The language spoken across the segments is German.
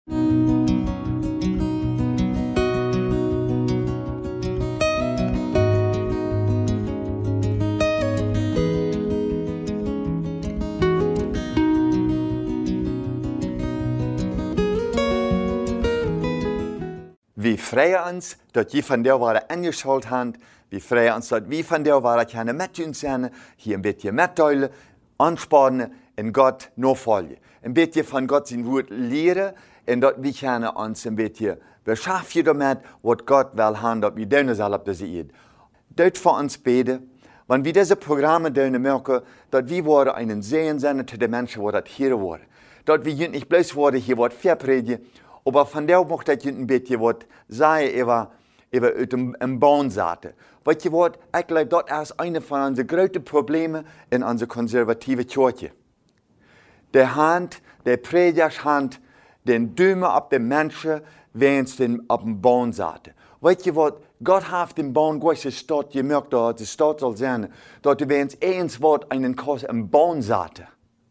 Vi freuen uns, dat je van der waren ingeschalt haben. Vi freuen uns, dat vi van der waren kunnen met uns zijn, hier een beetje mitteilen, aanspannen en God navolgen. Een beetje van God zijn woord leren en dat we kunnen ons een beetje beschäftigen damit, wat God wil hebben, dat we doen zullen op deze eeuw. Dat voor ons beden, want we deze programma doen merken, dat we worden een Segen zijn te de mensen, die dat hier worden. Dat we niet bloß worden hier wat verpredigen, aber von der mocht dat je een beetje wat zeggen over uit een baan zaten. Wat je wordt, ik geloof dat is een van onze grote problemen in onze conservatieve kerk. De hand, de predikershand, den duimen op de mensen, wens den op een baan zaten. Weet je wat, God heeft den baan gewisse stad, je merkt dat de stad zal zijn, dat de wens eens wordt een baan zaten.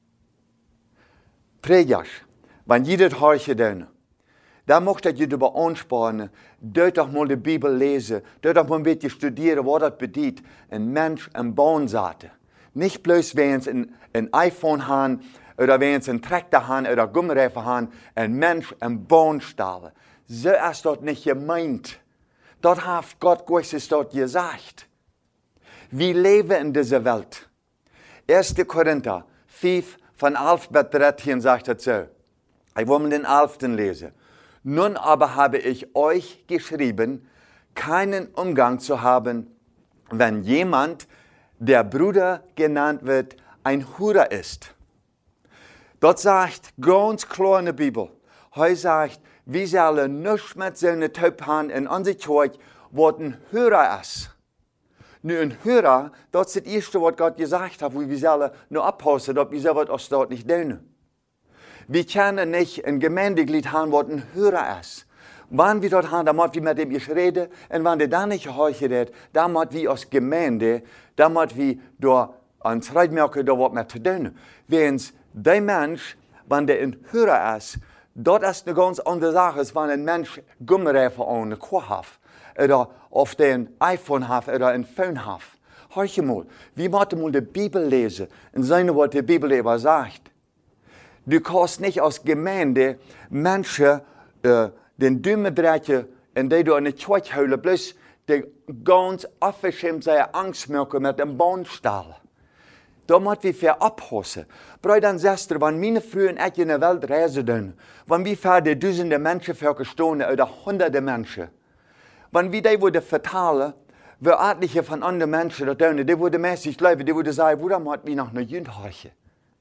Predikers, wanneer je dat hartje doen, dan mocht je erbij aanspannen, doe toch mal de Bibel lezen, doe toch mal een beetje studeren wat dat betekent, een mens een baan zaten. Niet bloß wens een iPhone hebben, oder wens een tractor hebben, oder gummireifen hebben, een mens een baan stellen. Zo is dat niet gemeint. Dat heeft God gewisse dat gezegd. We leven in deze Welt. 1. Korinther 5, von 11 bis 13 sagt het zo. Ich will den 11. lesen. Nun aber habe ich euch geschrieben, keinen Umgang zu haben, wenn jemand, der Bruder genannt wird, ein Hurer ist. Das sagt ganz klar in der Bibel. Er sagt, wir sollen nichts mit seinen Typ haben in unserer Kirche, was ein Hurer ist. Nu, ein Hurer, das ist das Erste, was Gott gesagt hat, wo wir sollen nur abpassen, dass wir sowas aus dort nicht tun. Wir können nicht ein Gemeindeglied haben, was ein Hörer ist. Wenn wir dort haben, dann müssen wir mit dem reden. Und wenn der dann nicht gehört, dann müssen wir als Gemeinde, dann müssen wir da ans Reitmerken, da was mit zu tun. Wenn der Mensch, wenn der ein Hörer ist, das ist eine ganz andere Sache, als wenn ein Mensch Gummireifen an der Kuh hat. Oder auf den iPhone hat, oder ein Phone hat. Hör mal, wir müssen mal die Bibel lesen und sehen, was die Bibel darüber sagt. Du kannst nicht als Gemeinde Menschen den Daumen drehen, in die du in die Kirche holen, bloß die ganz aufgeschämt seine Angst merken mit dem Bahnstall. Da müssen wir für abpassen. Brüder und Schwestern, wenn meine Frühe und ich in der Welt reisen, wenn wir für die Tausende Menschen verstehen oder Hunderte Menschen, wenn wir die würden vertalen, wie etliche von anderen Menschen da tun, die würden mäßig leben, die würden sagen, woran müssen wir noch eine Jünd horchen?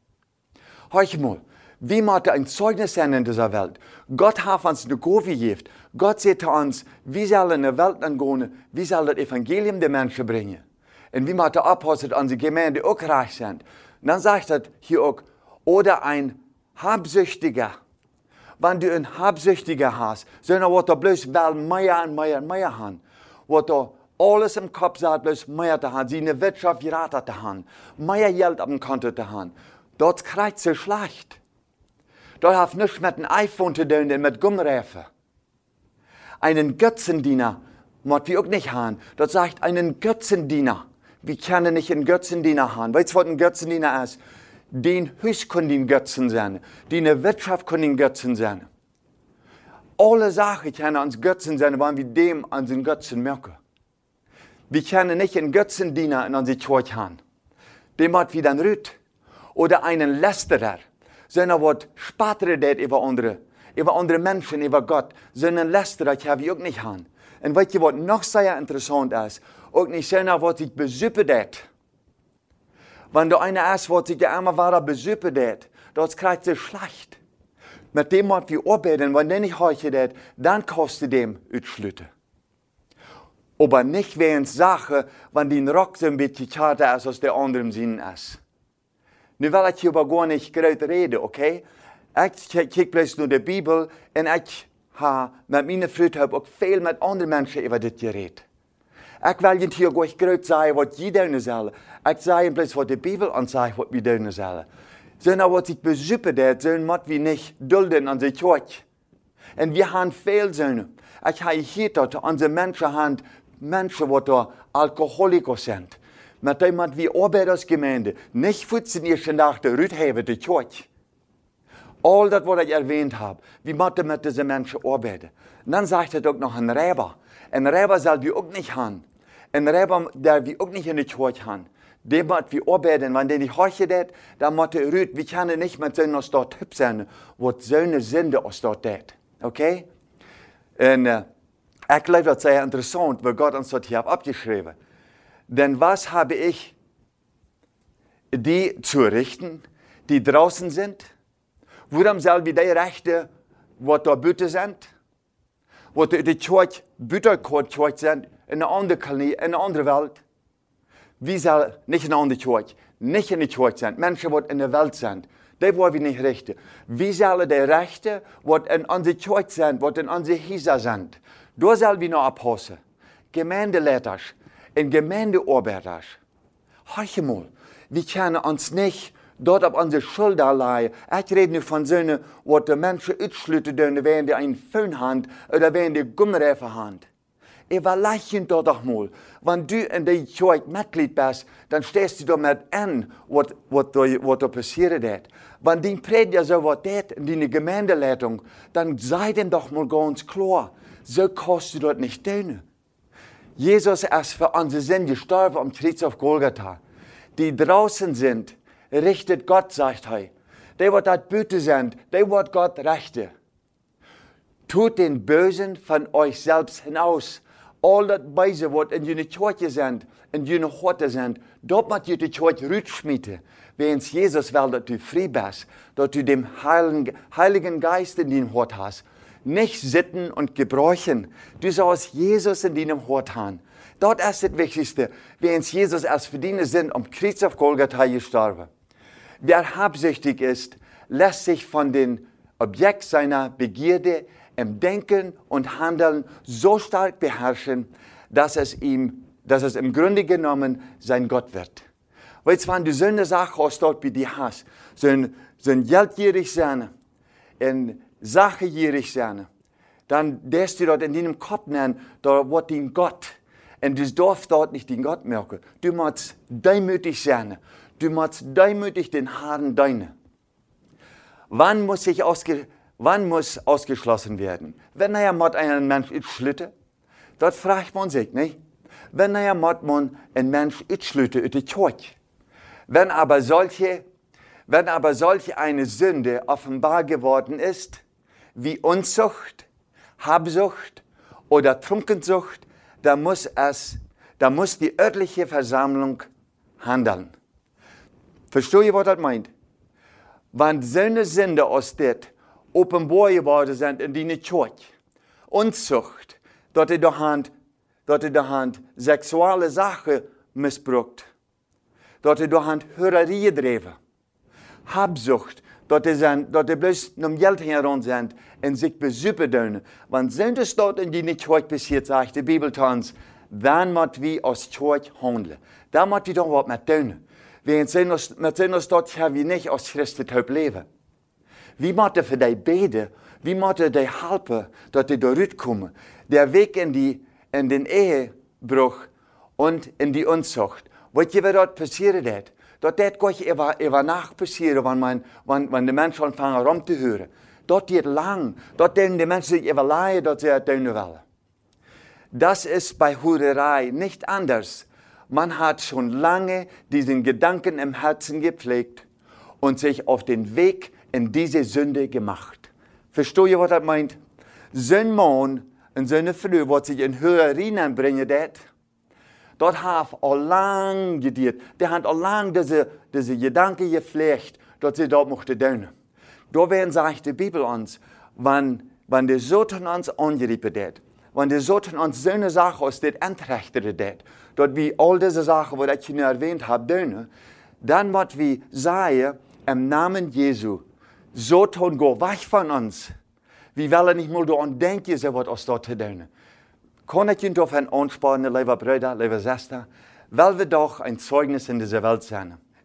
Hör mal, wir müssen ein Zeugnis sein in dieser Welt. Gott hat uns eine Gabe gegeben. Gott sagt zu uns, wir sollen in die Welt gehen, wir sollen das Evangelium den Menschen bringen. Und wir müssen aufpassen, dass unsere Gemeinde auch reich sind. Und dann sagt er hier auch, oder ein Habsüchtiger. Wenn du einen Habsüchtiger hast, sondern was er bloß will mehr und mehr und mehr haben. Was er alles im Kopf hat, bloß mehr zu haben, seine Wirtschaft geraten zu haben, mehr Geld auf dem Konto zu haben. Das kriegt so schlecht. Das hat nichts mit einem iPhone zu tun, und mit Gummireifen. Einen Götzendiener müssen wir auch nicht haben. Das sagt einen Götzendiener. Wir können nicht einen Götzendiener haben. Weißt du, was ein Götzendiener ist? Den Haus kann den Götzen sein. Die Wirtschaft kann den Götzen sein. Alle Sachen können uns Götzen sein, wenn wir dem an den Götzen merken. Wir können nicht einen Götzendiener in unserer Kirche haben. Dem hat wir dann rüt. Oder einen Lästerer, sondern was spatert über andere Menschen, über Gott, sondern Lästerer kann wir auch nicht haben. Und weißt du, was noch sehr interessant ist, auch nicht sondern was sich besüppert. Wenn du einer ist, was sich der immer weiter besüppert, das kriegt sich schlecht. Mit dem was wir arbeiten, wenn der nicht heuchelt, dann kostet dem Utschlütte. Aber nicht wegen Sache, wenn die Rock so ein bisschen kälter ist, als der andere im Sinn ist. Nu wil ik hier aber gar nicht groß reden, okay? Ich kijk bloß nur die Bibel und ich habe mit meiner Frau auch viel mit anderen Menschen über das geredet. Ich will nicht hier gar nicht groß sagen, was die tun sollen. Ich sage bloß, was die Bibel ansagt, was wir tun sollen. Sondern was sich besüppert, sollen wir nicht dulden an der Kirche. En wir haben veel zonen. Ik heb hier dat onze mensen hebben, mensen die alcoholicos zijn. Met iemand wie arbeidersgemeinde, nicht 14 eerste dag de Rüd hebben, de Kirche. All dat wat ik erwähnt habe, wie moeten met deze mensen arbeiten. En dan zegt het ook nog een Räber. Een Räber zal wir ook niet gaan. Een Räber, der wir ook niet in de Kirche gaan. Die moet wir arbeiten, wanneer die horche dat, dan moet de Rüd, wir kunnen niet met zo'n als dat hüb zijn, wat zo'n zinde als dat deed. Oké? En ik geloof dat sehr interessant, wat God ons dat hier heeft abgeschreven. Denn was habe ich, die zu richten, die draußen sind? Waarom zal wir die rechten, wat daar buiten zijn? Wat de Kirche, buiten Kirche zijn, in een andere kolonie, in een andere Welt? Wie zal niet in een andere Kirche, niet in de Kirche zijn, mensen wat in de Welt zijn? Die wollen wir nicht richten. Wie sollen die Rechte, wat in onze Kirche zijn, wat in onze Häuser zijn? Daar zullen wir noch abpassen. Gemeindeleiters en Gemeindearbeiters. Horch mal, wir können uns nicht dort auf unsere Schulter leihen. Ich rede nicht von Söhnen, wo die Menschen ausschlüten dürfen, wenn die einen Föhn haben oder wenn die Gummireifen haben. Überlegen doch doch mal, wenn du in der Kirche Mitglied bist, dann stehst du damit an, was da passiert ist. Wenn dein Prediger so was tät in deiner Gemeindeleitung, dann sei dem doch mal ganz klar, so kannst du dort nicht tun. Jesus ist für unsere Sünde gestorben am Kreuz auf Golgatha. Die draußen sind, richtet Gott, sagt er. Die, die dort Büte sind, die wird Gott rechte. Tut den Bösen von euch selbst hinaus. All das Böse, was in jene Kirche sind, in jene Horte sind, dort muss die Kirche rütschmieden. Wenn Jesus will, dass du frei bist, dass du den Heiligen Geist in deinem Hort hast. Nicht sitten und gebräuchen. Du sollst Jesus in deinem Hort haben. Dort ist das Wichtigste, wenn Jesus erst für deine sind, am Kreuz auf Golgatha gestorben. Wer habsüchtig ist, lässt sich von dem Objekt seiner Begierde im Denken und Handeln so stark beherrschen, dass es im Grunde genommen sein Gott wird. Weißt du, wenn du so eine Sache hast, dort bei dir hast, so ein geldgierig sein, ein sachgierig sein, dann darfst du dort in deinem Kopf nennen, da wird dein Gott. Und du darfst dort nicht den Gott merken. Du musst demütig sein. Du musst demütig den Herrn dienen. Wann muss ausgeschlossen werden? Wenn mit einem Mensch ausschlütte, dort fragt man sich, nicht? Wenn mit man einen Mensch ausschlütte in die Kirche. Wenn aber solche eine Sünde offenbar geworden ist, wie Unzucht, Habsucht oder Trunkensucht, da muss die örtliche Versammlung handeln. Versteht ihr, was das meint? Wenn so eine Sünde aus dem offenbar geworden sind in die Kirche, Unzucht, dort in der Hand sexuelle Sachen missbraucht, dort in der Hand Hörerie driven, Habsucht, dort die bloß um Geld herum sind und sich besüppen dürfen. Wenn Sünde dort in die Kirche passiert, sagt die Bibel uns, dann müssen wir aus Kirche handeln. Da müssen wir doch was mit tun. Mit Sünde dort haben wir nicht aus Christus leben. Wie müssen für die beten? Wie müssen die helfen, dass die da rauskommen? Der Weg in den Ehebruch und in die Unzucht. Weißt ihr, was dort passiert ist? Dort geht gleich über Nacht passieren, wenn die Menschen anfangen rumzuhören. Dort geht lang. Dort denken die Menschen sich überlegen, dass sie es tun wollen. Das ist bei Hurerei nicht anders. Man hat schon lange diesen Gedanken im Herzen gepflegt und sich auf den Weg in diese Sünde gemacht. Versteht ihr, was das meint? So ein Mann und so eine Frau, was sich in Hurerien bringen, dort haben all lang gedient. Die haben all lang diese Gedanken gepflegt, dass sie dort mochten tun. Da werden, sagt die Bibel uns, wenn der Satan uns angerieben hat, wenn der Satan uns so eine Sache aus dem entrichtet hat, dort wie all diese Sachen, die ich schon erwähnt habe, tun, dann wird wir sagen, im Namen Jesu, Satan, geh weg von uns. Wir wollen nicht mal daran denken, so was aus dort zu tun. Kann ich Ihnen davon anspornen, liebe Brüder, liebe Schwestern, weil wir doch ein Zeugnis in dieser Welt sein.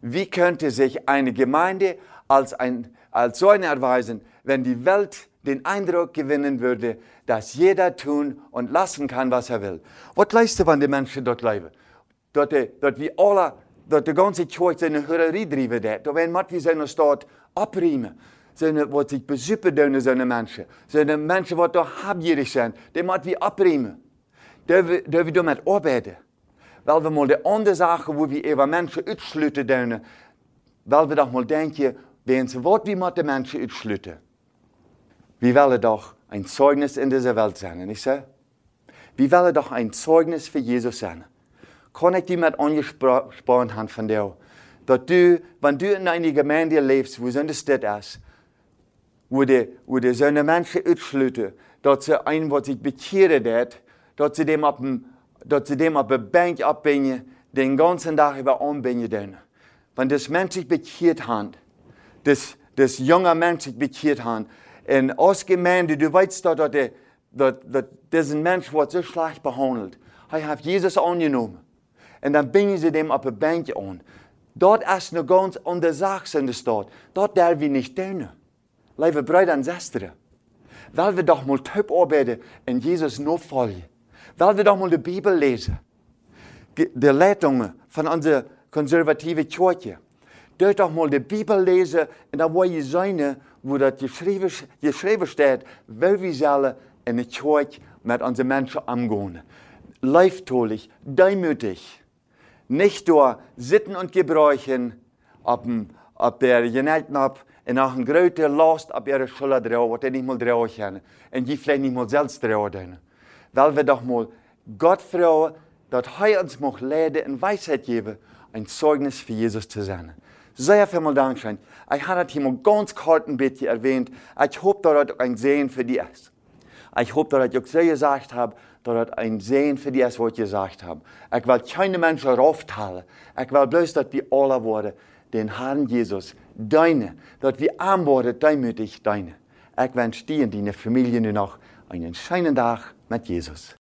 Wie könnte sich eine Gemeinde als so eine erweisen, wenn die Welt den Eindruck gewinnen würde, dass jeder tun und lassen kann, was er will? Was leist du, wenn die Menschen dort leben? Dort wie alle, dort die ganze Kirche seine Hurerei driven, da werden wir wie seine Stadt abriemen. Seine, was sich besuppen tun, seine Menschen. Seine Menschen, die da habgierig sind, die müssen wir abriemen. Dürfen wir damit arbeiten? Weil wir mal die andere Sachen, wo wir über Menschen ausschließen tun, weil wir doch mal denken, wenn sie was wie mit den Menschen ausschließen. Wir wollen doch ein Zeugnis in dieser Welt sein, nicht so? Wir wollen doch ein Zeugnis für Jesus sein. Kann ich dir mit angesprochen haben von dir, dass du, wenn du in einer Gemeinde lebst, wo so eine Stadt ist, wo die so eine Menschen ausschließen, dass sie einen, was sich bekehren hat, dass sie dem auf der Bank abbringen, den ganzen Tag über anbringen. Wenn das Mensch sich bekehrt hat, das junge Mensch sich bekehrt hat, und als Gemeinde, du weißt doch, dass diesen Mensch wird so schlecht behandelt. Er hat Jesus angenommen. Und dann bringen sie dem auf der Bank an. Dort ist eine ganz andere Sache in der Stadt. Dort dürfen wir nicht tun. Liebe Brüder und Schwestern, weil wir doch mal top arbeiten und Jesus nachfolgen. Weil wir doch mal die Bibel lesen. Die Leitungen von unserer konservativen Kirche. Dort doch mal die Bibel lesen und da wo ihr sein, wo das geschrieben steht, weil wir sollen in der Kirche mit unseren Menschen umgehen. Leiftolig, demütig. Nicht nur sitten und gebräuchen, ob der Genelten ab, und auch eine große Last auf ihre Schulter drauf, was die nicht mal drauf können. Und die vielleicht nicht mal selbst drauf können. Weil wir doch mal Gott fragen, dass er uns mag leiden und Weisheit geben, ein Zeugnis für Jesus zu sein. Sehr vielen Dank schön. Ich habe das hier mal ganz kurz ein bisschen erwähnt. Ich hoffe, dass das ein Sehen für dich ist. Ich hoffe, dass ich auch so gesagt habe, dass das ein Sehen für dich ist, was ich gesagt habe. Ich will keine Menschen raufteilen. Ich will bloß, dass wir alle worden, den Herrn Jesus, deine, dass wir arm worden, demütig deine. Ich wünsche dir und deiner Familie nur noch einen schönen Tag mit Jesus.